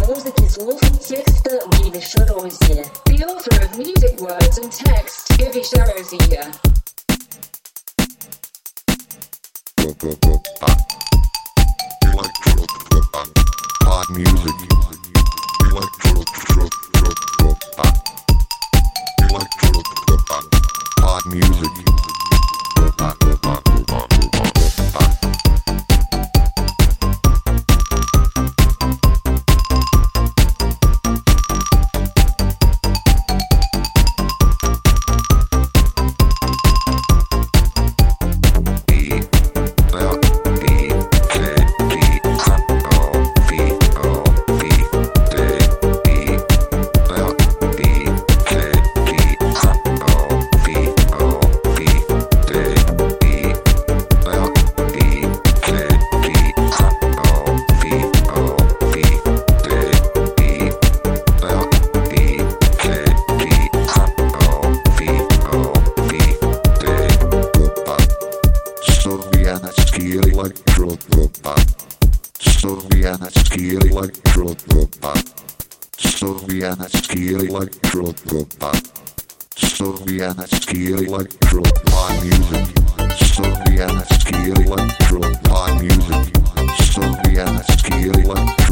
музыки, слов и текста Гиви Шарози. The author of music words and text, Gиви Шарозия. Pop music, pop music. Slovianski electropop. Slovianski electropop music. Slovianski electropop music. Slovianski electropop.